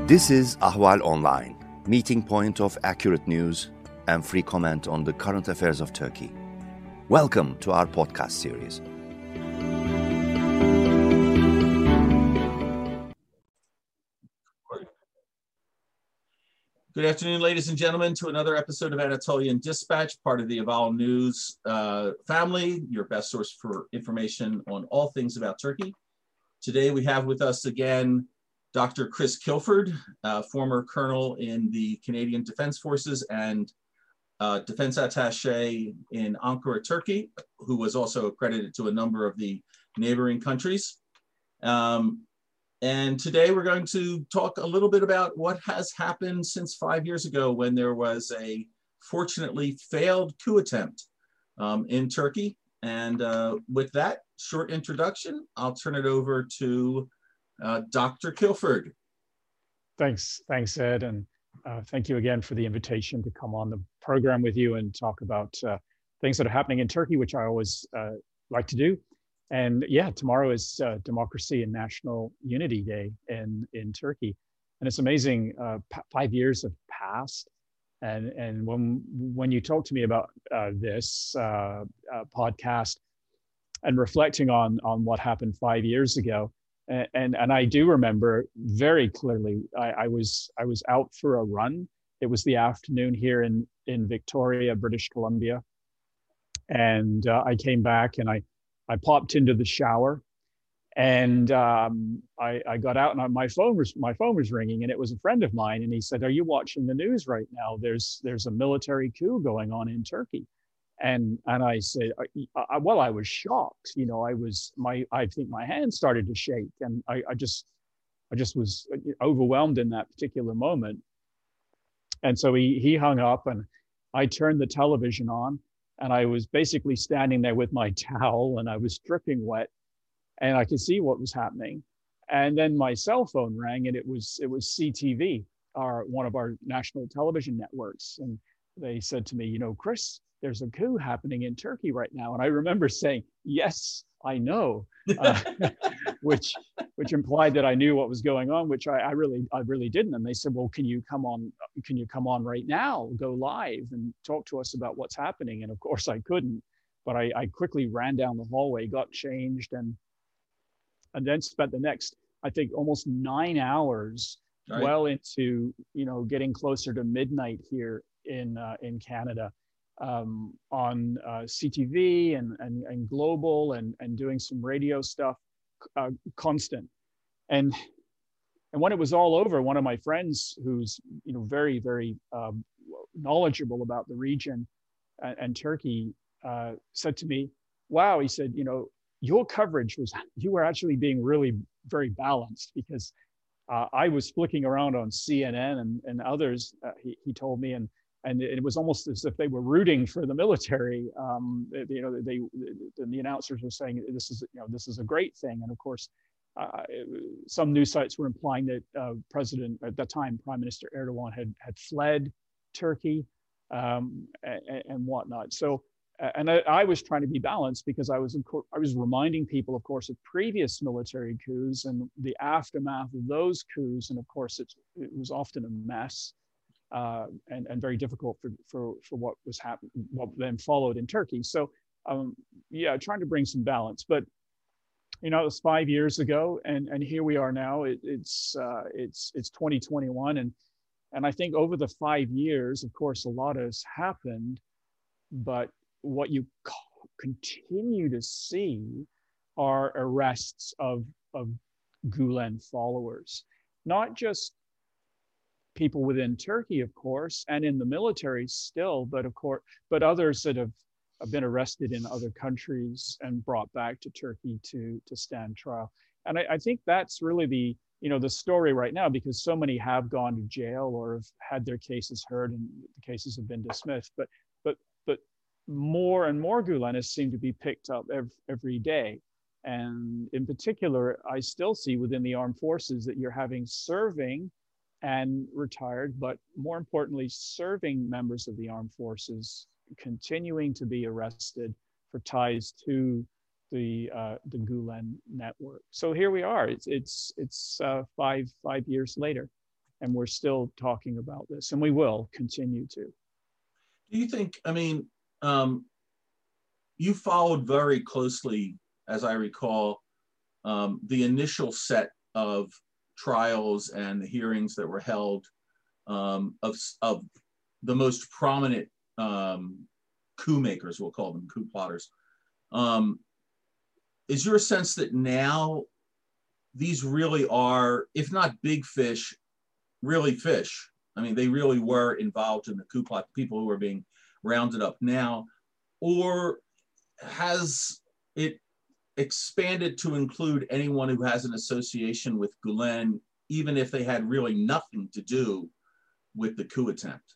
This is Ahval Online, meeting point of accurate news and free comment on the current affairs of Turkey. Welcome to our podcast series. Good afternoon, ladies and gentlemen, to another episode of Anatolian Dispatch, part of the Ahval News family, your best source for information on all things about Turkey. Today we have with us again Dr. Chris Kilford, former colonel in the Canadian Defense Forces and defense attaché in Ankara, Turkey, who was also accredited to a number of the neighboring countries. And today we're going to talk a little bit about what has happened since 5 years ago when there was a fortunately failed coup attempt in Turkey. And with that short introduction, I'll turn it over to Dr. Kilford. Thanks, Ed, and thank you again for the invitation to come on the program with you and talk about things that are happening in Turkey, which I always like to do. And yeah, tomorrow is Democracy and National Unity Day in Turkey, and it's amazing. 5 years have passed, and when you talk to me about this podcast and reflecting on what happened 5 years ago. And I do remember very clearly, I was out for a run. It was the afternoon here in Victoria, British Columbia. And I came back and I popped into the shower, and I got out and my phone was ringing, and it was a friend of mine, and he said, "Are you watching the news right now? There's a military coup going on in Turkey." And I said, well, I was shocked. You know, I think my hand started to shake, and I just was overwhelmed in that particular moment. And so he hung up, and I turned the television on, and I was basically standing there with my towel, and I was dripping wet, and I could see what was happening. And then my cell phone rang, and it was CTV, one of our national television networks, and they said to me, "You know, Chris, there's a coup happening in Turkey right now." And I remember saying, "Yes, I know," which implied that I knew what was going on, which I really didn't. And they said, "Well, can you come on right now, go live and talk to us about what's happening?" And of course I couldn't, but I quickly ran down the hallway, got changed, and then spent the next, I think, almost 9 hours, right, well into, getting closer to midnight here in Canada, on CTV and global and doing some radio stuff, constant. And when it was all over, one of my friends who's very, very knowledgeable about the region and Turkey said to me, "Wow," he said, "your coverage you were actually being really very balanced," because I was flicking around on CNN and others, he told me, and it was almost as if they were rooting for the military. The announcers were saying this is a great thing, and of course, some news sites were implying that President at that time, Prime Minister Erdogan, had fled Turkey and whatnot. So, and I was trying to be balanced because I was reminding people, of course, of previous military coups and the aftermath of those coups, and of course, it was often a mess. And very difficult for what was happening, what then followed in Turkey. So, trying to bring some balance. But it was 5 years ago, and here we are now. It's 2021, and I think over the 5 years, of course, a lot has happened. But what you continue to see are arrests of Gulen followers, not just people within Turkey, of course, and in the military still, but others that have been arrested in other countries and brought back to Turkey to stand trial. And I think that's really the story right now, because so many have gone to jail or have had their cases heard and the cases have been dismissed. But more and more Gulenists seem to be picked up every day. And in particular, I still see within the armed forces that you're having serving and retired, but more importantly, serving members of the armed forces continuing to be arrested for ties to the Gulen network. So here we are. It's 5 years later. and we're still talking about this, and we will continue to. Do you think, I mean, you followed very closely, as I recall, the initial set of trials and the hearings that were held of the most prominent coup makers, we'll call them coup plotters. Is your sense that now these really are, if not big fish, really fish? I mean, they really were involved in the coup plot, people who are being rounded up now, or has it expanded to include anyone who has an association with Gulen, even if they had really nothing to do with the coup attempt?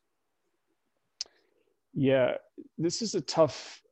Yeah, this is a tough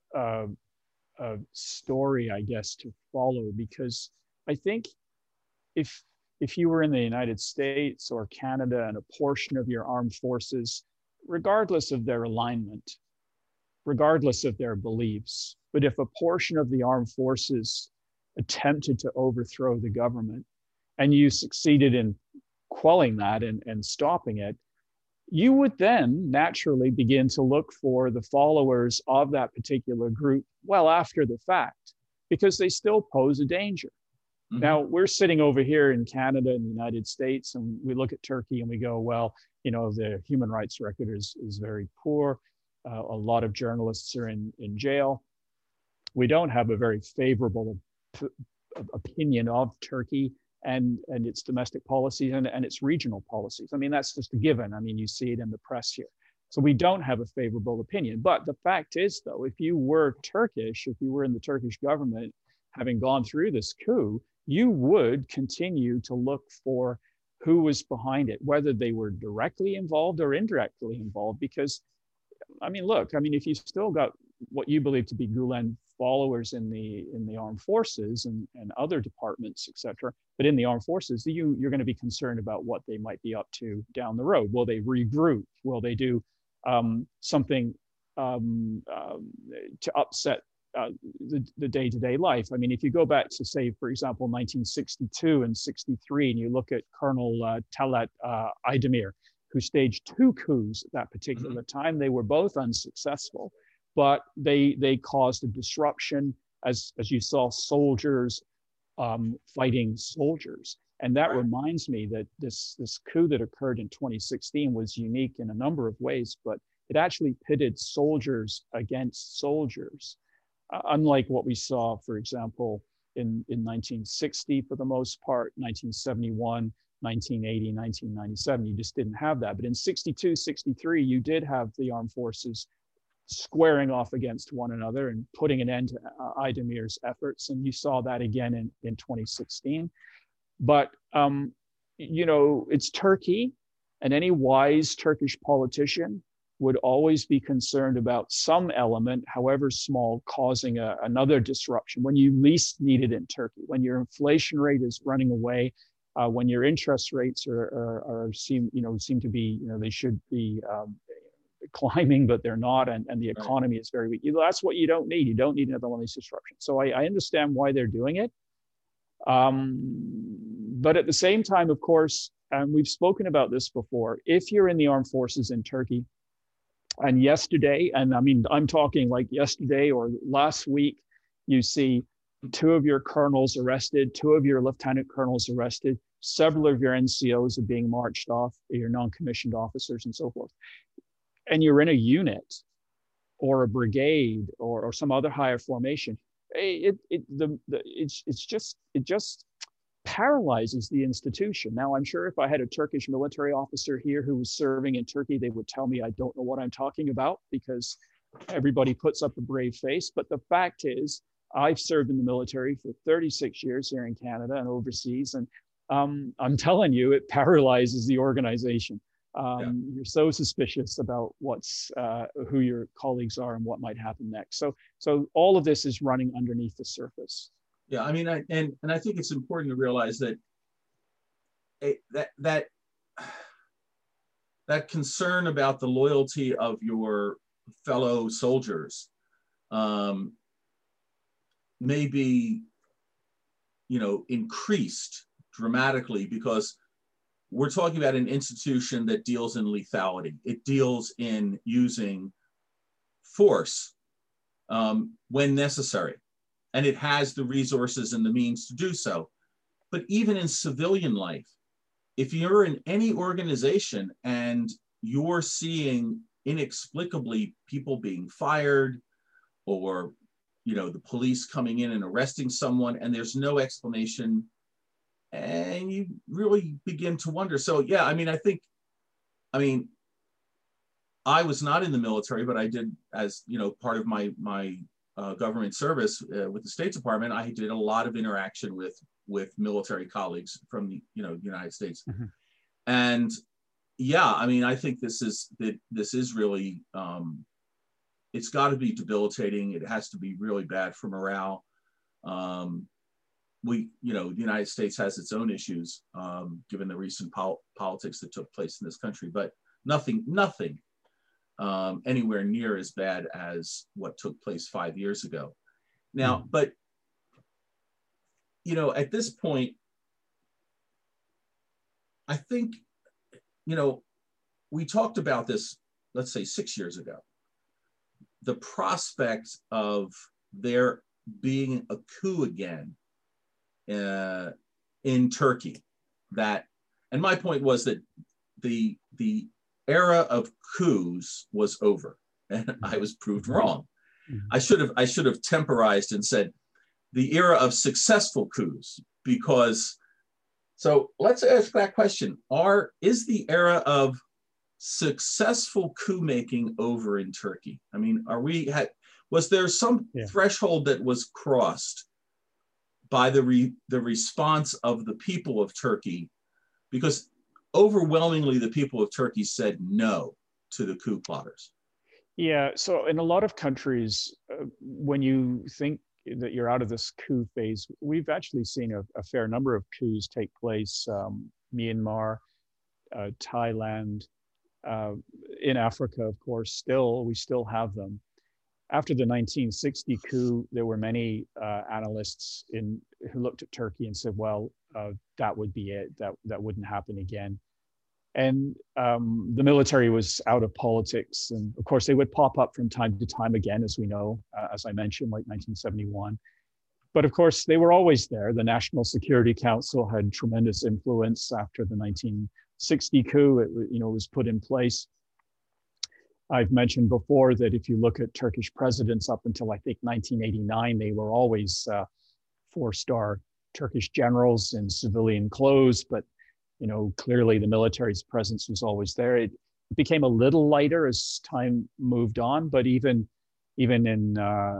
story, I guess, to follow, because I think if you were in the United States or Canada and a portion of your armed forces, regardless of their alignment, regardless of their beliefs, but if a portion of the armed forces attempted to overthrow the government and you succeeded in quelling that and stopping it, you would then naturally begin to look for the followers of that particular group well after the fact, because they still pose a danger. Mm-hmm. Now, we're sitting over here in Canada and the United States, and we look at Turkey and we go, well, you know, the human rights record is very poor. A lot of journalists are in jail. We don't have a very favorable opinion of Turkey and its domestic policies and its regional policies. I mean, that's just a given. I mean, you see it in the press here. So we don't have a favorable opinion. But the fact is, though, if you were Turkish, if you were in the Turkish government, having gone through this coup, you would continue to look for who was behind it, whether they were directly involved or indirectly involved. Because, I mean, look, I mean, if you still got what you believe to be Gulen followers in the armed forces and other departments, et cetera, but in the armed forces, you're going to be concerned about what they might be up to down the road. Will they regroup? Will they do something to upset the day-to-day life? I mean, if you go back to, say, for example, 1962 and 63, and you look at Colonel Talat Aydemir, who staged 2 coups at that particular time, they were both unsuccessful, but they caused a disruption, as you saw soldiers fighting soldiers. And that reminds me that this coup that occurred in 2016 was unique in a number of ways, but it actually pitted soldiers against soldiers. Unlike what we saw, for example, in 1960 for the most part, 1971, 1980, 1997, you just didn't have that. But in 62, 63, you did have the armed forces squaring off against one another and putting an end to Aydemir's efforts. And you saw that again in 2016. But, you know, it's Turkey, and any wise Turkish politician would always be concerned about some element, however small, causing another disruption when you least need it in Turkey, when your inflation rate is running away, when your interest rates seem to be, they should be climbing, but they're not, and the economy is very weak. That's what you don't need. You don't need another one of these disruptions. So I understand why they're doing it. But at the same time, of course, and we've spoken about this before, if you're in the armed forces in Turkey, and yesterday, and I mean, I'm talking like yesterday or last week, you see 2 of your colonels arrested, 2 of your lieutenant colonels arrested, several of your NCOs are being marched off, your non-commissioned officers and so forth. And you're in a unit or a brigade or some other higher formation. It just paralyzes the institution. Now, I'm sure if I had a Turkish military officer here who was serving in Turkey, they would tell me I don't know what I'm talking about, because everybody puts up a brave face. But the fact is, I've served in the military for 36 years here in Canada and overseas, and I'm telling you, it paralyzes the organization. You're so suspicious about who your colleagues are and what might happen next. So all of this is running underneath the surface. Yeah, I mean, I think it's important to realize that that concern about the loyalty of your fellow soldiers may be, increased dramatically, because we're talking about an institution that deals in lethality. It deals in using force when necessary, and it has the resources and the means to do so. But even in civilian life, if you're in any organization and you're seeing inexplicably people being fired, or the police coming in and arresting someone, and there's no explanation, and you really begin to wonder. So yeah, I was not in the military, but I did, as part of my government service with the State Department, I did a lot of interaction with military colleagues from the United States. Mm-hmm. And yeah, I think this is really, it's got to be debilitating. It has to be really bad for morale. The United States has its own issues, given the recent politics that took place in this country, but nothing anywhere near as bad as what took place 5 years ago. Now, but at this point, I think, we talked about this, let's say 6 years ago, the prospect of there being a coup again in Turkey, and my point was that the era of coups was over, and I was proved wrong. Mm-hmm. I should have temporized and said the era of successful coups, because, so let's ask that question. Is the era of successful coup making over in Turkey? Was there some threshold that was crossed by the response of the people of Turkey? Because overwhelmingly, the people of Turkey said no to the coup plotters. Yeah, so in a lot of countries, when you think that you're out of this coup phase, we've actually seen a fair number of coups take place. Myanmar, Thailand, in Africa, of course, we still have them. After the 1960 coup, there were many analysts who looked at Turkey and said, well, that would be it, that wouldn't happen again. And the military was out of politics. And of course, they would pop up from time to time again, as we know, as I mentioned, like 1971. But of course, they were always there. The National Security Council had tremendous influence after the 1960 coup. It was put in place. I've mentioned before that if you look at Turkish presidents up until, I think, 1989, they were always 4-star Turkish generals in civilian clothes, but clearly the military's presence was always there. It became a little lighter as time moved on, but even in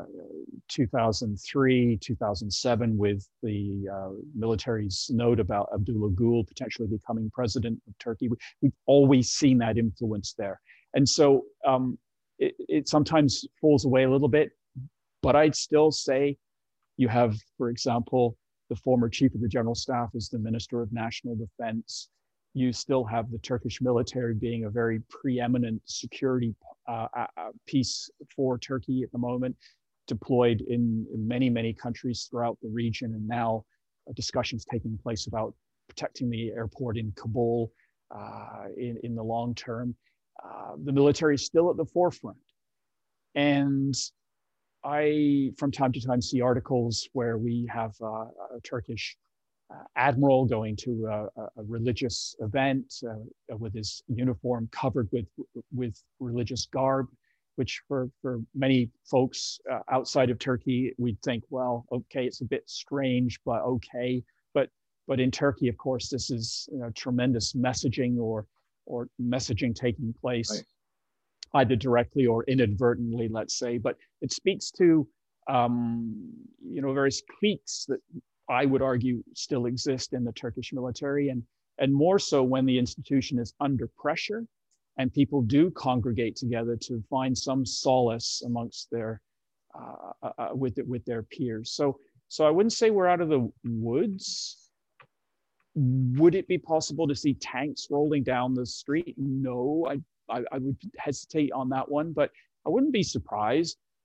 2003, 2007, with the military's note about Abdullah Gül potentially becoming president of Turkey, we've always seen that influence there. And so it sometimes falls away a little bit, but I'd still say you have, for example, the former chief of the general staff is the Minister of National Defense. You still have the Turkish military being a very preeminent security piece for Turkey at the moment, deployed in many, many countries throughout the region. And now discussions taking place about protecting the airport in Kabul in the long term. The military is still at the forefront. And I, from time to time, see articles where we have a Turkish admiral going to a religious event with his uniform covered with religious garb, which for many folks outside of Turkey, we'd think, well, okay, it's a bit strange, but okay. But in Turkey, of course, this is tremendous messaging or messaging taking place. Right. Either directly or inadvertently, let's say, but it speaks to various cliques that I would argue still exist in the Turkish military, and more so when the institution is under pressure and people do congregate together to find some solace amongst their with their peers. So I wouldn't say we're out of the woods. Would it be possible to see tanks rolling down the street? No, I would hesitate on that one, but I wouldn't be surprised.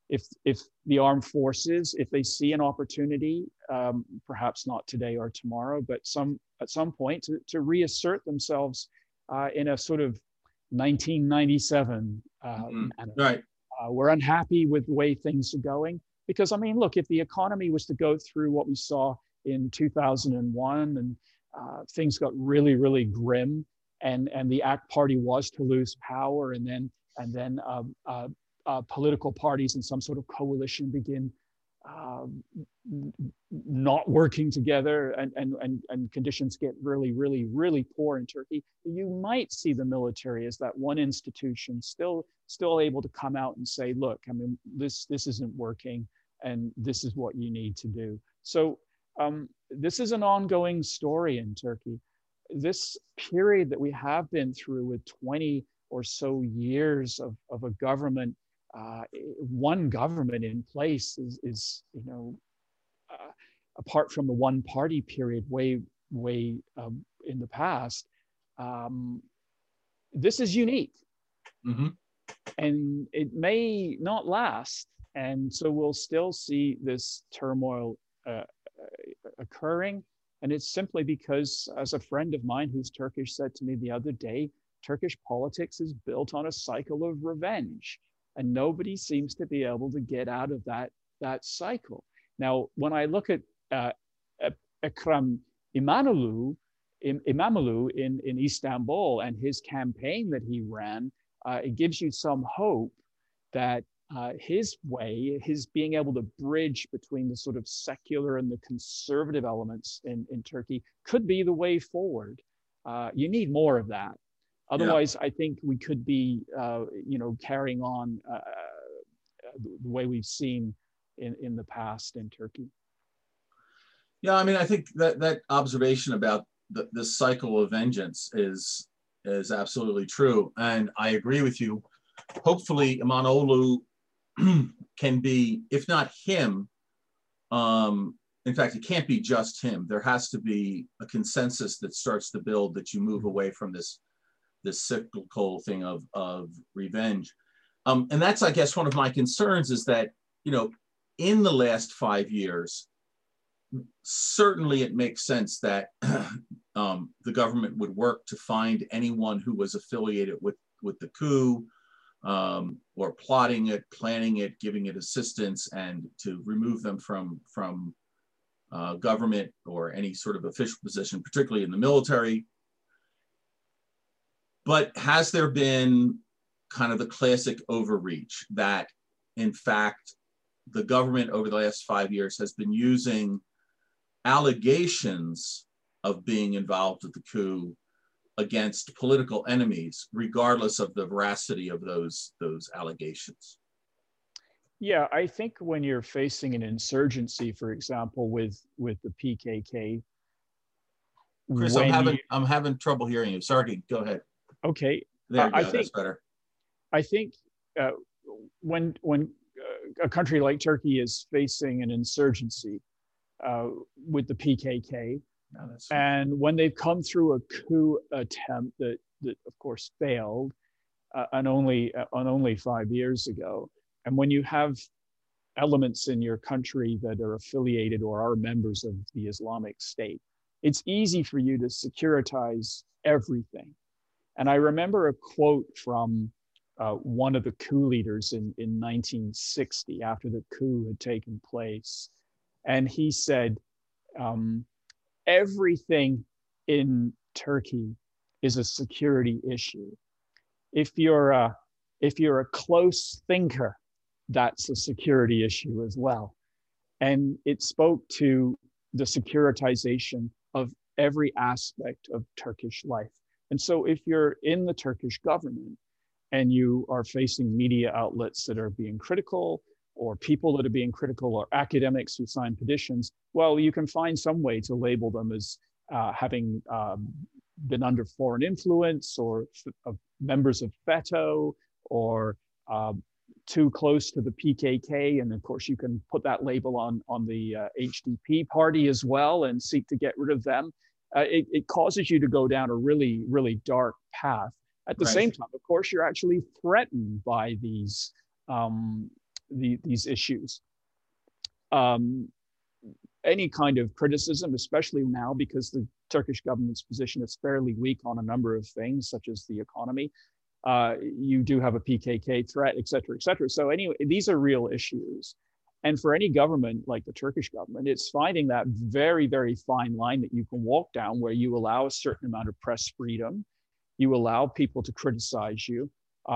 if the armed forces, if they see an opportunity, perhaps not today or tomorrow, but at some point to reassert themselves in a sort of 1997 manner. Right. We're unhappy with the way things are going because, I mean, look, if the economy was to go through what we saw in 2001 and things got really, really grim, and the ACT Party was to lose power, and then political parties in some sort of coalition begin not working together, and conditions get really, really, really poor in Turkey, you might see the military as that one institution still able to come out and say, look, I mean, this isn't working, and this is what you need to do. So this is an ongoing story in Turkey. This period that we have been through with 20 or so years of a government, one government in place is apart from the one party period way in the past, this is unique. Mm-hmm. And it may not last. And so we'll still see this turmoil occurring. And it's simply because, as a friend of mine who's Turkish said to me the other day, Turkish politics is built on a cycle of revenge. And nobody seems to be able to get out of that cycle. Now, when I look at Ekrem İmamoğlu in Istanbul and his campaign that he ran, it gives you some hope that his being able to bridge between the sort of secular and the conservative elements in Turkey could be the way forward. You need more of that. Otherwise, I think we could be, carrying on the way we've seen in the past in Turkey. Yeah, I mean, I think that observation about the cycle of vengeance is absolutely true, and I agree with you. Hopefully, İmamoğlu can be, if not him, in fact, it can't be just him. There has to be a consensus that starts to build, that you move away from this cyclical thing of revenge. And that's, I guess, one of my concerns is that, in the last 5 years, certainly it makes sense that the government would work to find anyone who was affiliated with the coup, or plotting it, planning it, giving it assistance, and to remove them from government or any sort of official position, particularly in the military. But has there been kind of the classic overreach that, in fact, the government over the last 5 years has been using allegations of being involved with the coup against political enemies, regardless of the veracity of those allegations? Yeah, I think when you're facing an insurgency, for example, with the PKK, Chris, I'm having trouble hearing you. Sorry, go ahead. Okay, there you go. That's better. I think when a country like Turkey is facing an insurgency with the PKK, and when they've come through a coup attempt that of course failed, on only 5 years ago, and when you have elements in your country that are affiliated or are members of the Islamic State, it's easy for you to securitize everything. And I remember a quote from one of the coup leaders in 1960, after the coup had taken place. And he said, everything in Turkey is a security issue. If you're a close thinker, that's a security issue as well. And it spoke to the securitization of every aspect of Turkish life. And so if you're in the Turkish government and you are facing media outlets that are being critical, or people that are being critical, or academics who sign petitions, well, you can find some way to label them as having been under foreign influence, or members of FETÖ, or too close to the PKK. And of course, you can put that label on the HDP party as well and seek to get rid of them. It causes you to go down a really, really dark path. At the same time, of course, you're actually threatened by these these issues. Any kind of criticism, especially now because the Turkish government's position is fairly weak on a number of things, such as the economy. You do have a PKK threat, et cetera, et cetera. So anyway, these are real issues. And for any government like the Turkish government, it's finding that very, very fine line that you can walk down where you allow a certain amount of press freedom, you allow people to criticize you,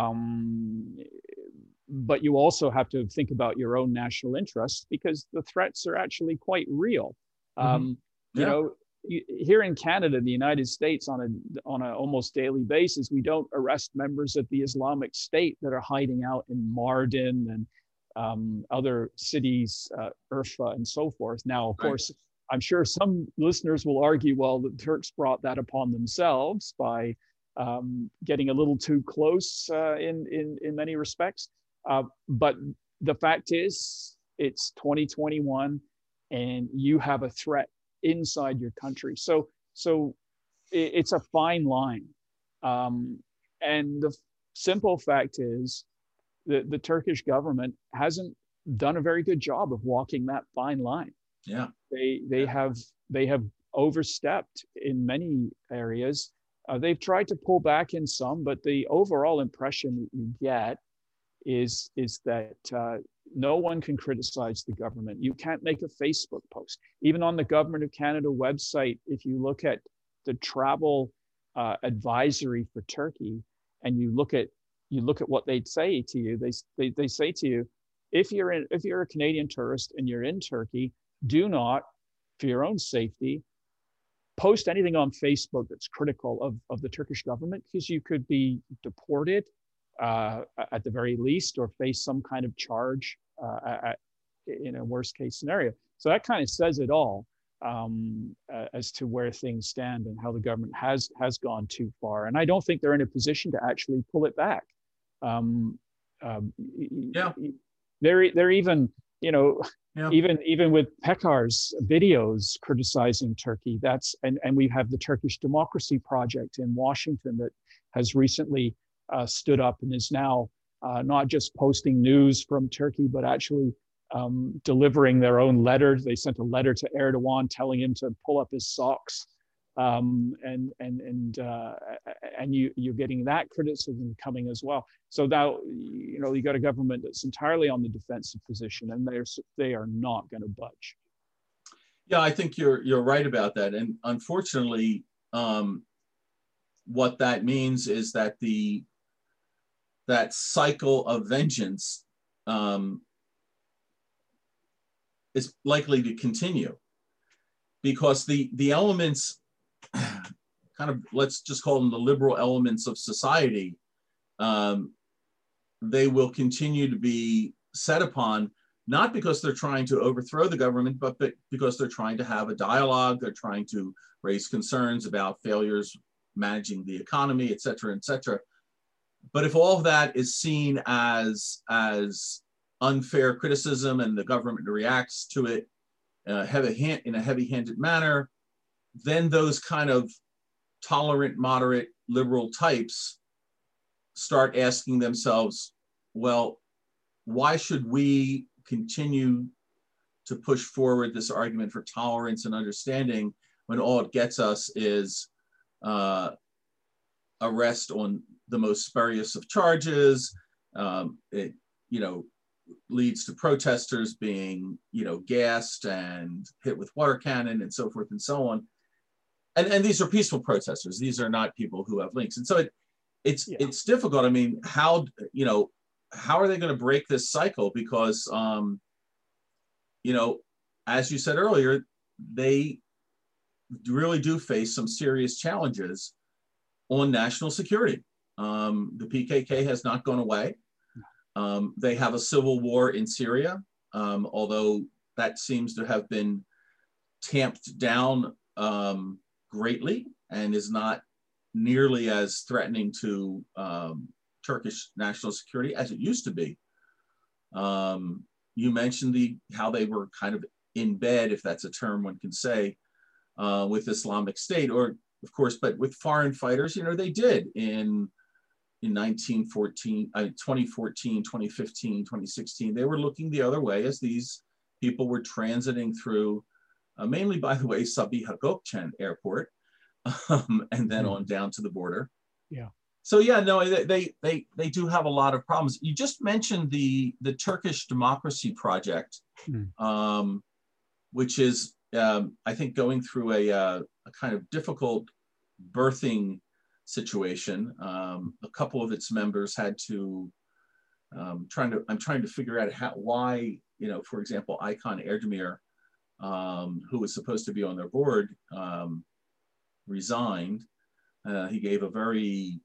but you also have to think about your own national interests because the threats are actually quite real. You know, here in Canada, the United States, on a almost daily basis, we don't arrest members of the Islamic State that are hiding out in Mardin and other cities, Urfa and so forth. Now, of course, I'm sure some listeners will argue, well, the Turks brought that upon themselves by getting a little too close in many respects. But the fact is, it's 2021 and you have a threat inside your country. So it's a fine line. And the simple fact is that the Turkish government hasn't done a very good job of walking that fine line. Yeah. They have overstepped in many areas. They've tried to pull back in some, but the overall impression that you get is that no one can criticize the government. You can't make a Facebook post. Even on the Government of Canada website, if you look at the travel advisory for Turkey, and you look at what they'd say to you, they say to you, if you're a Canadian tourist and you're in Turkey, do not, for your own safety, post anything on Facebook that's critical of the Turkish government, because you could be deported at the very least, or face some kind of charge in a worst case scenario. So that kind of says it all as to where things stand and how the government has gone too far. And I don't think they're in a position to actually pull it back. They're even, you know, even with Pekar's videos criticizing Turkey, and we have the Turkish Democracy Project in Washington that has recently stood up and is now not just posting news from Turkey, but actually delivering their own letter. They sent a letter to Erdogan telling him to pull up his socks, and you're getting that criticism coming as well. So now, you know, you got a government that's entirely on the defensive position, and they are not going to budge. Yeah, I think you're right about that, and unfortunately, what that means is that that cycle of vengeance is likely to continue, because the elements, kind of, let's just call them the liberal elements of society, they will continue to be set upon, not because they're trying to overthrow the government, but because they're trying to have a dialogue, they're trying to raise concerns about failures managing the economy, et cetera, et cetera. But if all of that is seen as unfair criticism and the government reacts to it in a heavy-handed manner, then those kind of tolerant, moderate, liberal types start asking themselves, well, why should we continue to push forward this argument for tolerance and understanding when all it gets us is arrest on the most spurious of charges? It, you know, leads to protesters being, you know, gassed and hit with water cannon and so forth and so on. And these are peaceful protesters. These are not people who have links. And so it's difficult. I mean, how are they going to break this cycle? Because, you know, as you said earlier, they really do face some serious challenges on national security. The PKK has not gone away. They have a civil war in Syria, although that seems to have been tamped down greatly and is not nearly as threatening to Turkish national security as it used to be. You mentioned how they were kind of in bed, if that's a term one can say, with Islamic State, or of course, but with foreign fighters, you know, they did in in 2014, 2015, 2016, they were looking the other way as these people were transiting through, mainly, by the way, Sabiha Gökçen Airport, and then on down to the border. Yeah. So yeah, no, they do have a lot of problems. You just mentioned the Turkish Democracy Project, which is I think going through a kind of difficult birthing situation. A couple of its members had to I'm trying to figure out why, for example, Aykan Erdemir, who was supposed to be on their board, resigned. He gave a very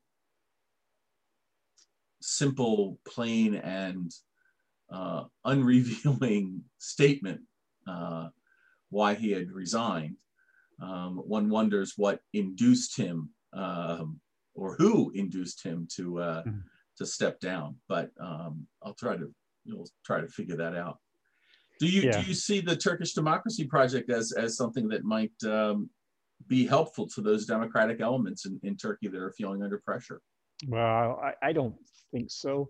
simple, plain, and unrevealing statement why he had resigned. One wonders what induced him, or who induced him to step down. But I'll try to figure that out. Do you see the Turkish Democracy Project as something that might be helpful to those democratic elements in Turkey that are feeling under pressure? Well, I don't think so.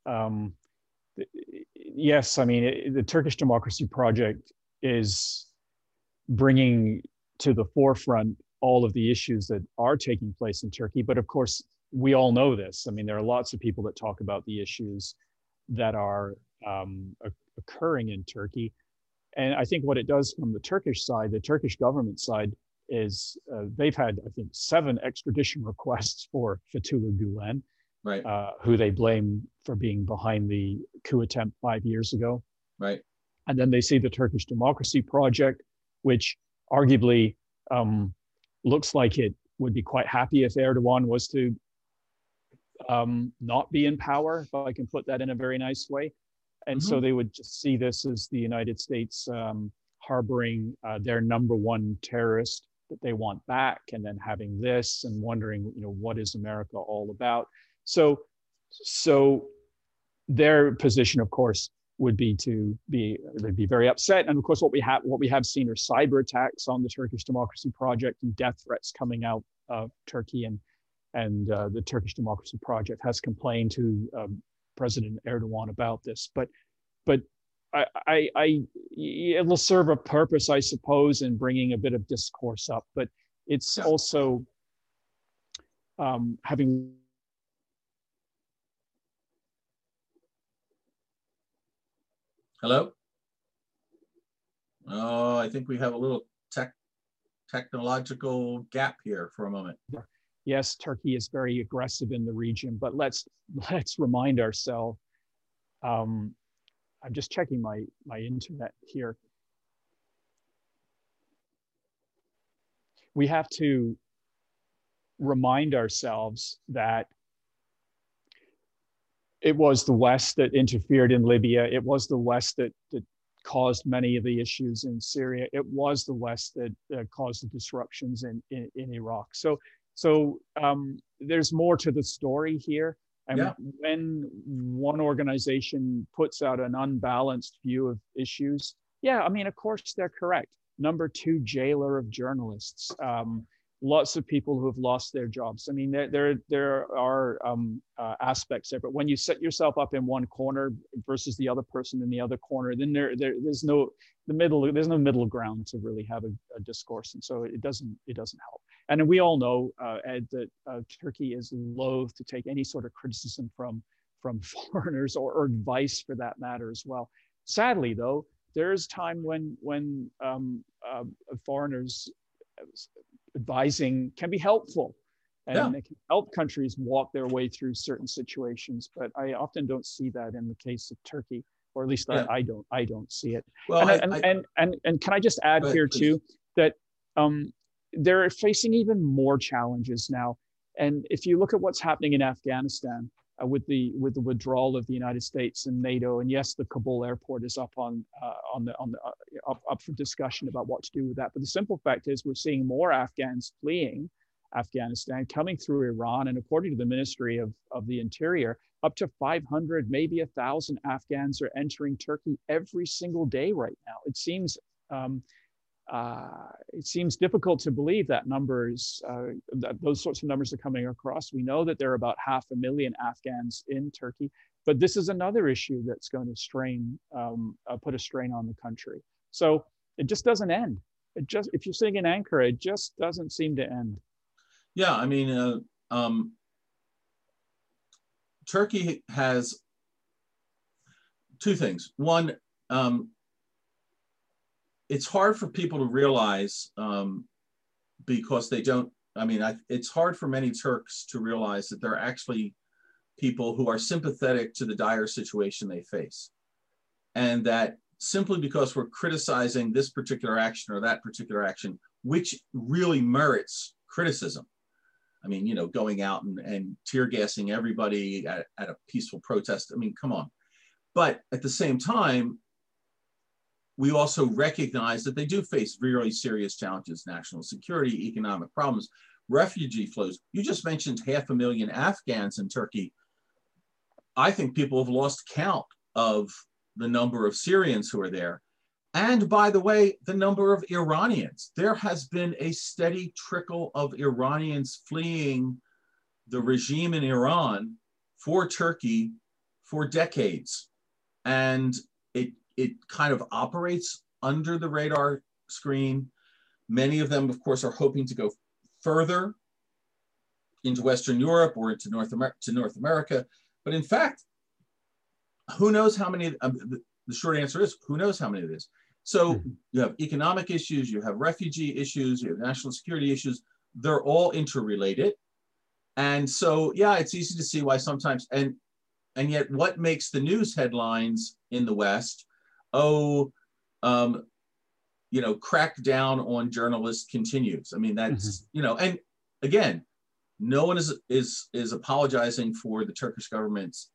Yes, I mean, the Turkish Democracy Project is bringing to the forefront all of the issues that are taking place in Turkey. But of course, we all know this. I mean, there are lots of people that talk about the issues that are occurring in Turkey. And I think what it does from the Turkish side, the Turkish government side, is they've had, I think, 7 extradition requests for Fethullah Gulen, right? Who they blame for being behind the coup attempt 5 years ago. Right. And then they see the Turkish Democracy Project, which arguably looks like it would be quite happy if Erdogan was to not be in power, if I can put that in a very nice way. And so they would just see this as the United States harboring their number one terrorist that they want back, and then having this and wondering, what is America all about? So their position, of course, would be they'd be very upset. And of course, what we have seen are cyber attacks on the Turkish Democracy Project and death threats coming out of Turkey, and the Turkish Democracy Project has complained to President Erdogan about this. But it will serve a purpose, I suppose, in bringing a bit of discourse up. But it's also having. Hello? Oh, I think we have a little technological gap here for a moment. Yes, Turkey is very aggressive in the region, but let's remind ourselves. I'm just checking my internet here. We have to remind ourselves that it was the West that interfered in Libya. It was the West that caused many of the issues in Syria. It was the West that caused the disruptions in Iraq. So there's more to the story here. And when one organization puts out an unbalanced view of issues, I mean, of course, they're correct. Number 2 jailer of journalists. Lots of people who have lost their jobs. I mean, there are aspects there, but when you set yourself up in one corner versus the other person in the other corner, then there's no middle ground to really have a discourse, and so it doesn't help. And we all know, Ed, that Turkey is loath to take any sort of criticism from foreigners or advice for that matter as well. Sadly, though, there is time when foreigners advising can be helpful, and it can help countries walk their way through certain situations. But I often don't see that in the case of Turkey, or at least I don't see it. Well, and can I just add here too that they're facing even more challenges now. And if you look at what's happening in Afghanistan with the withdrawal of the United States and NATO, and yes, the Kabul airport is up up for discussion about what to do with that. But the simple fact is, we're seeing more Afghans fleeing Afghanistan, coming through Iran, and according to the Ministry of the Interior, up to 500, maybe 1,000 Afghans are entering Turkey every single day right now. It seems it seems difficult to believe that numbers, that those sorts of numbers are coming across. We know that there are about 500,000 Afghans in Turkey, but this is another issue that's going to put a strain on the country. So it just doesn't end. If you're sitting in Ankara, it just doesn't seem to end. Yeah, I mean, Turkey has two things. One, it's hard for people to realize because they don't, it's hard for many Turks to realize that there are actually people who are sympathetic to the dire situation they face. And that simply because we're criticizing this particular action or that particular action, which really merits criticism. I mean, you know, going out and tear gassing everybody at a peaceful protest. I mean, come on. But at the same time, we also recognize that they do face really serious challenges: national security, economic problems, refugee flows. You just mentioned 500,000 Afghans in Turkey. I think people have lost count of the number of Syrians who are there. And by the way, the number of Iranians. There has been a steady trickle of Iranians fleeing the regime in Iran for Turkey for decades. And it kind of operates under the radar screen. Many of them, of course, are hoping to go further into Western Europe or into North America. But in fact, who knows how many, the short answer is, who knows how many it is. So you have economic issues, you have refugee issues, you have national security issues. They're all interrelated. And so, yeah, it's easy to see why sometimes, and yet what makes the news headlines in the West? You know, crackdown on journalists continues. I mean, that's, you know, and again, no one is apologizing for the Turkish government's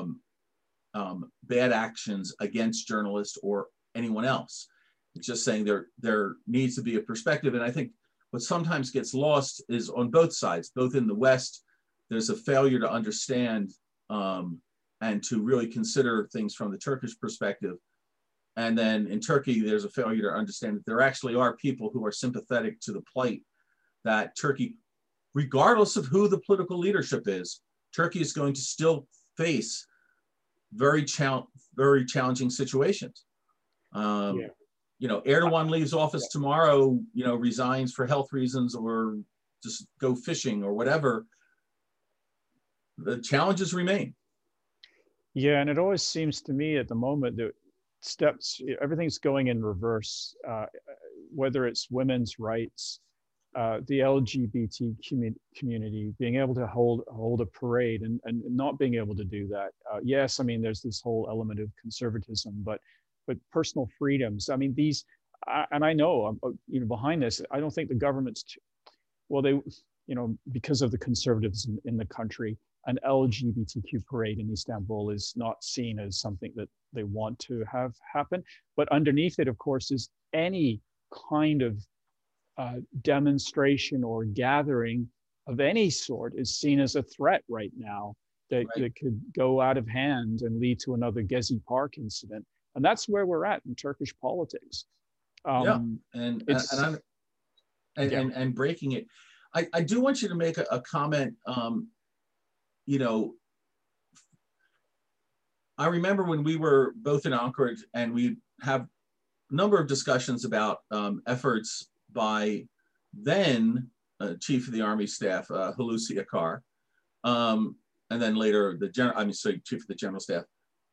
bad actions against journalists or anyone else. It's just saying there needs to be a perspective. And I think what sometimes gets lost is on both sides, both in the West, there's a failure to understand and to really consider things from the Turkish perspective. And then in Turkey, there's a failure to understand that there actually are people who are sympathetic to the plight that Turkey, regardless of who the political leadership is, Turkey is going to still face very challenging situations. You know, Erdogan leaves office tomorrow, you know, resigns for health reasons or just go fishing or whatever. The challenges remain. Yeah, and it always seems to me at the moment that everything's going in reverse, whether it's women's rights, the LGBT community being able to hold a parade and not being able to do that. Yes, I mean, there's this whole element of conservatism, but personal freedoms. I mean, these, and I know, you know, behind this, I don't think the government's, well, they, you know, because of the conservatism in the country, an LGBTQ parade in Istanbul is not seen as something that they want to have happen. But underneath it, of course, is any kind of demonstration or gathering of any sort is seen as a threat right now that could go out of hand and lead to another Gezi Park incident. And that's where we're at in Turkish politics. And breaking it. I do want you to make a comment. You know, I remember when we were both in Ankara and we have a number of discussions about efforts by then Chief of the Army Staff, Hulusi Akar, and then later Chief of the General Staff,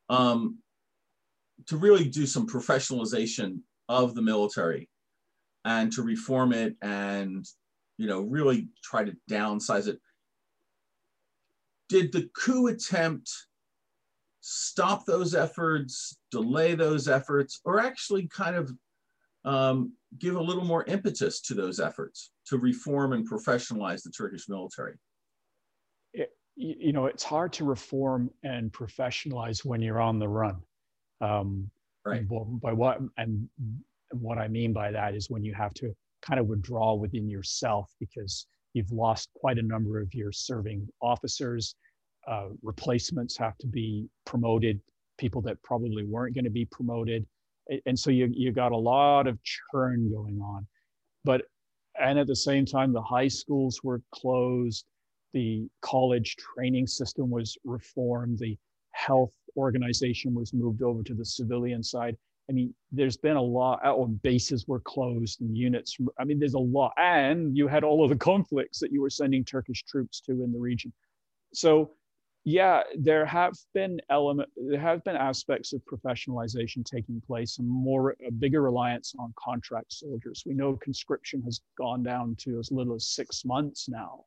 to really do some professionalization of the military and to reform it and, you know, really try to downsize it. Did the coup attempt stop those efforts, delay those efforts, or actually kind of give a little more impetus to those efforts to reform and professionalize the Turkish military? You know, it's hard to reform and professionalize when you're on the run. Right. By what I mean by that is when you have to kind of withdraw within yourself because you've lost quite a number of your serving officers. Replacements have to be promoted, people that probably weren't going to be promoted. And so you got a lot of churn going on. And at the same time, the high schools were closed, the college training system was reformed, the health organization was moved over to the civilian side. I mean, there's been a lot, bases were closed and units. I mean, there's a lot. And you had all of the conflicts that you were sending Turkish troops to in the region. So yeah, there have been aspects of professionalization taking place and a bigger reliance on contract soldiers. We know conscription has gone down to as little as 6 months now.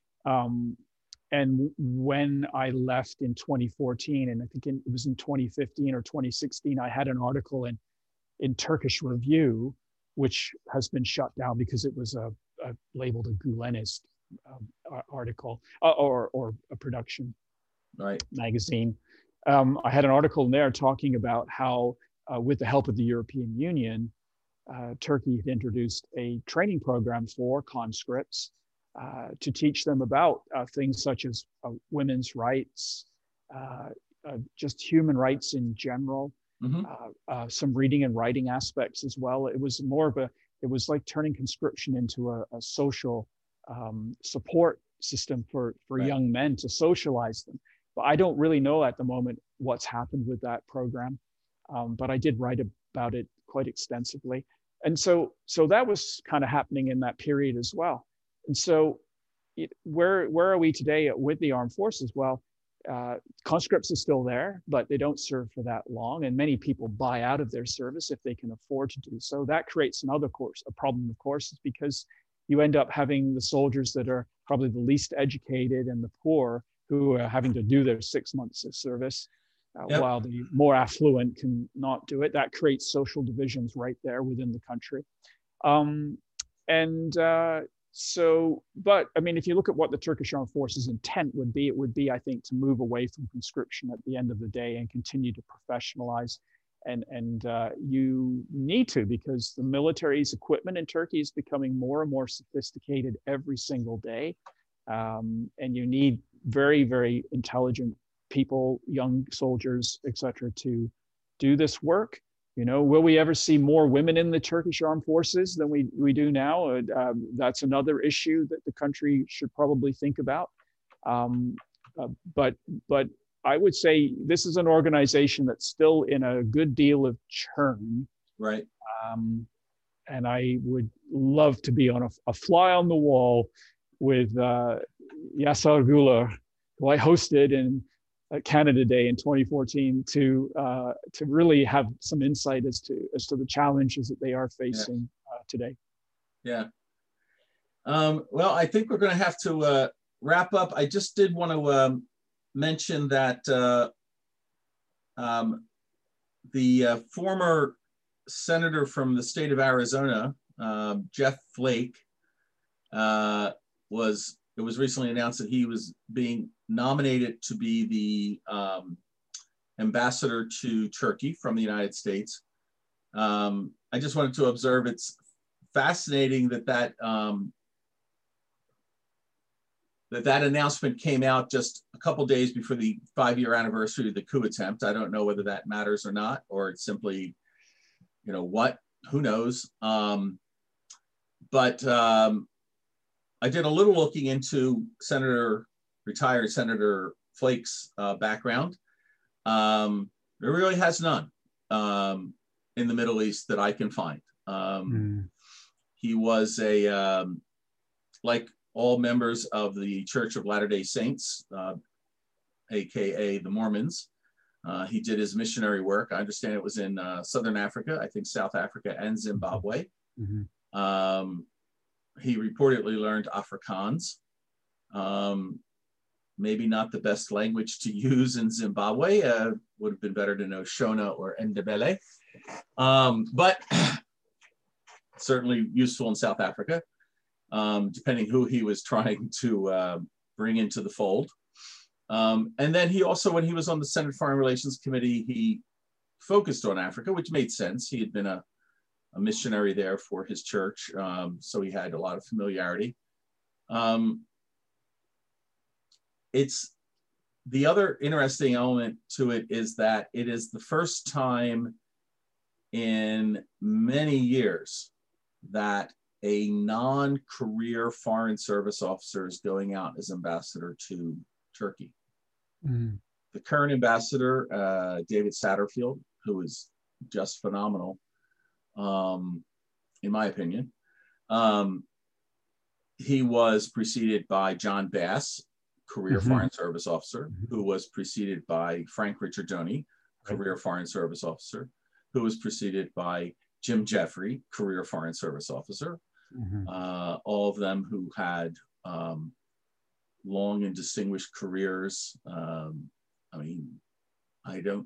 And when I left in 2014, and I think it was in 2015 or 2016, I had an article in Turkish Review, which has been shut down because it was labeled a Gulenist article or a production magazine. I had an article in there talking about how, with the help of the European Union, Turkey had introduced a training program for conscripts to teach them about things such as women's rights, just human rights in general, some reading and writing aspects as well. It was it was like turning conscription into a social support system for young men to socialize them. But I don't really know at the moment what's happened with that program, but I did write about it quite extensively. And so that was kind of happening in that period as well. And so where are we today with the armed forces? Well, conscripts are still there, but they don't serve for that long. And many people buy out of their service if they can afford to do so. That creates a problem, of course, is because you end up having the soldiers that are probably the least educated and the poor who are having to do their 6 months of service, while the more affluent can not do it. That creates social divisions right there within the country. But I mean, if you look at what the Turkish Armed Forces intent would be, it would be, I think, to move away from conscription at the end of the day and continue to professionalize. And you need to, because the military's equipment in Turkey is becoming more and more sophisticated every single day. And you need very, very intelligent people, young soldiers, et cetera, to do this work. You know, will we ever see more women in the Turkish Armed Forces than we do now? That's another issue that the country should probably think about. But I would say this is an organization that's still in a good deal of churn. Right. And I would love to be on a fly on the wall with Yasar Güler, who I hosted in Canada Day in 2014, to really have some insight as to the challenges that they are facing today. Yeah. Well, I think we're going to have to wrap up. I just did want to mention that the former senator from the state of Arizona, Jeff Flake, it was recently announced that he was being nominated to be the ambassador to Turkey from the United States. I just wanted to observe, it's fascinating that announcement came out just a couple days before the 5-year anniversary of the coup attempt. I don't know whether that matters or not, or it's simply, you know, who knows? But I did a little looking into retired Senator Flake's background. There really has none in the Middle East that I can find. He was like all members of the Church of Latter-day Saints, AKA the Mormons. He did his missionary work. I understand it was in Southern Africa, I think South Africa and Zimbabwe. He reportedly learned Afrikaans. Maybe not the best language to use in Zimbabwe. Would have been better to know Shona or Ndebele. But certainly useful in South Africa, depending who he was trying to bring into the fold. And then he also, when he was on the Senate Foreign Relations Committee, he focused on Africa, which made sense. He had been a missionary there for his church, so he had a lot of familiarity. It's the other interesting element to it is that it is the first time in many years that a non-career foreign service officer is going out as ambassador to Turkey. Mm. The current ambassador, David Satterfield, who is just phenomenal, in my opinion. He was preceded by John Bass, career foreign service officer, who was preceded by Frank Ricciardoni, career foreign service officer, who was preceded by Jim Jeffrey, career foreign service officer. All of them who had long and distinguished careers. I mean, I'm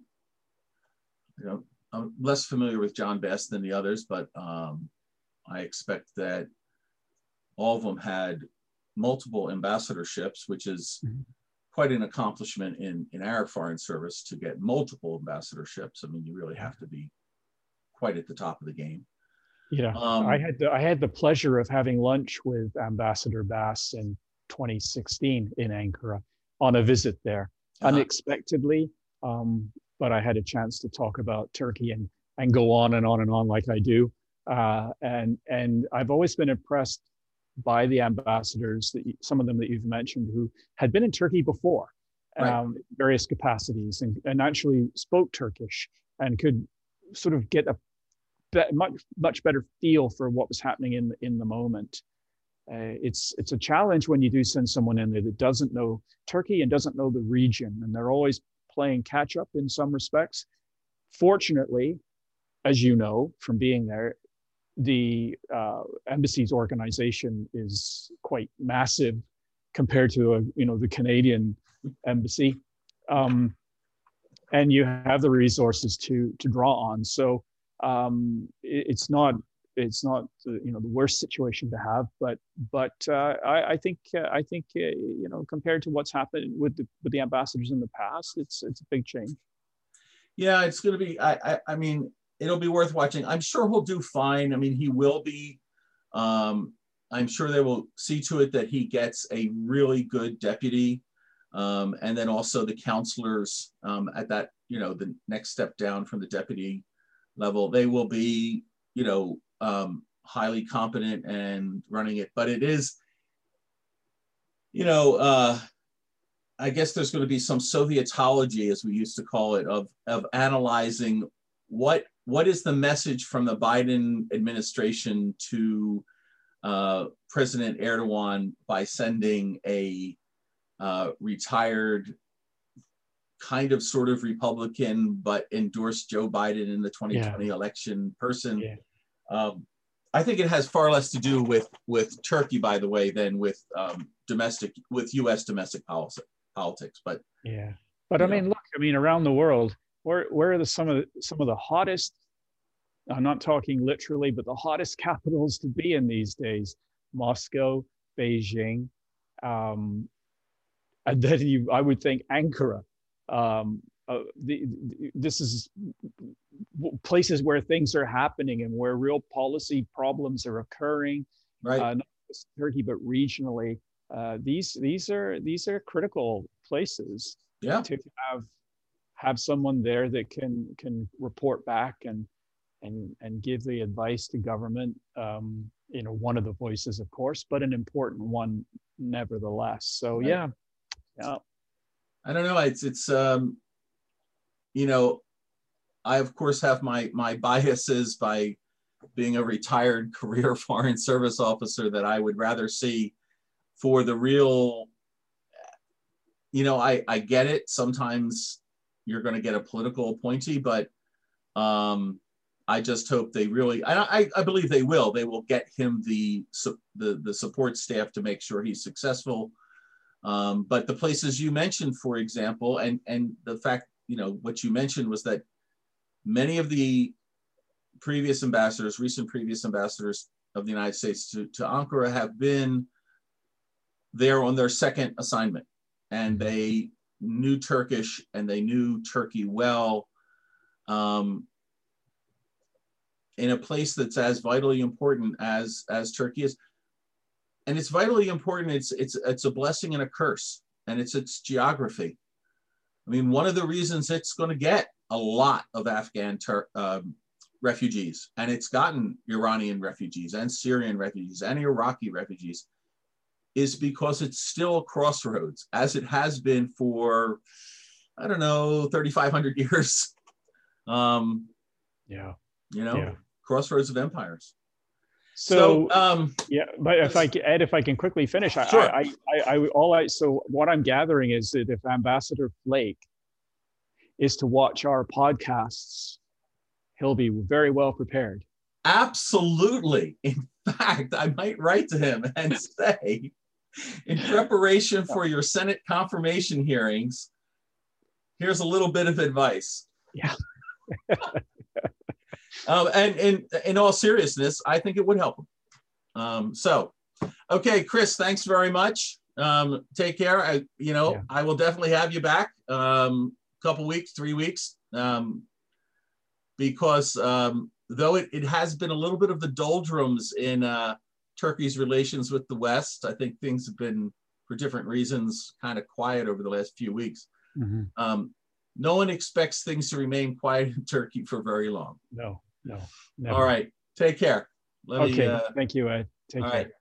less familiar with John Bass than the others, but I expect that all of them had multiple ambassadorships, which is quite an accomplishment in our foreign service to get multiple ambassadorships. I mean, you really have to be quite at the top of the game. Yeah, I had the pleasure of having lunch with Ambassador Bass in 2016 in Ankara on a visit there, unexpectedly. But I had a chance to talk about Turkey and go on and on and on like I do. And I've always been impressed by the ambassadors, some of them that you've mentioned, who had been in Turkey before, various capacities, and actually spoke Turkish and could sort of get a much better feel for what was happening in the moment. It's a challenge when you do send someone in there that doesn't know Turkey and doesn't know the region, and they're always playing catch up in some respects. Fortunately, as you know from being there, the embassy's organization is quite massive compared to the Canadian embassy, and you have the resources to draw on. So it's not the worst situation to have, but I think compared to what's happened with the ambassadors in the past, it's a big change. Yeah, it's going to be. I mean, it'll be worth watching. I'm sure he'll do fine. I mean, he will be. I'm sure they will see to it that he gets a really good deputy, and then also the counselors at that the next step down from the deputy level. They will be highly competent and running it. But it is, I guess there's going to be some Sovietology, as we used to call it, of analyzing what is the message from the Biden administration to President Erdogan by sending a retired kind of sort of Republican, but endorsed Joe Biden in the 2020 election person. Yeah. I think it has far less to do with Turkey, by the way, than with U.S. domestic politics. But yeah, but I mean, look, around the world, where are some of the hottest? I'm not talking literally, but the hottest capitals to be in these days: Moscow, Beijing, and then I would think Ankara. This is places where things are happening and where real policy problems are occurring, right? Not just Turkey, but regionally. These are critical places. Yeah. To have someone there that can report back and give the advice to government. One of the voices, of course, but an important one nevertheless. So right. Yeah. I don't know. It's I of course have my biases by being a retired career foreign service officer that I would rather see for the real. I get it. Sometimes you're going to get a political appointee, but I just hope they really. I believe they will. They will get him the support staff to make sure he's successful. But the places you mentioned, for example, and the fact, what you mentioned was that many of the recent previous ambassadors of the United States to Ankara have been there on their second assignment, and they knew Turkish and they knew Turkey well, in a place that's as vitally important as Turkey is. And it's vitally important. It's a blessing and a curse, and it's its geography. I mean, one of the reasons it's going to get a lot of Afghan refugees, and it's gotten Iranian refugees and Syrian refugees and Iraqi refugees, is because it's still a crossroads, as it has been for, I don't know, 3,500 years. Crossroads of empires. So but if I can quickly finish, sure. So what I'm gathering is that if Ambassador Flake is to watch our podcasts, he'll be very well prepared. Absolutely. In fact, I might write to him and say, in preparation for your Senate confirmation hearings, here's a little bit of advice. Yeah. And in all seriousness, I think it would help him. Okay, Chris, thanks very much. Take care. I will definitely have you back. Couple weeks, 3 weeks, because though it has been a little bit of the doldrums in Turkey's relations with the West, I think things have been, for different reasons, kind of quiet over the last few weeks. Mm-hmm. No one expects things to remain quiet in Turkey for very long. No, never. All right, take care. Thank you, Ed. Take care. Right.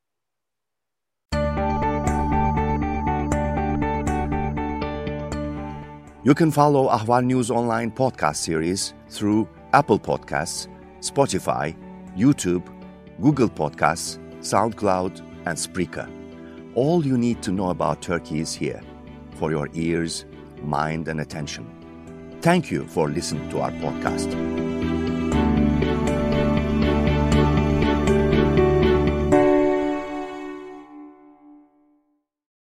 You can follow Ahval News Online podcast series through Apple Podcasts, Spotify, YouTube, Google Podcasts, SoundCloud, and Spreaker. All you need to know about Turkey is here, for your ears, mind, and attention. Thank you for listening to our podcast.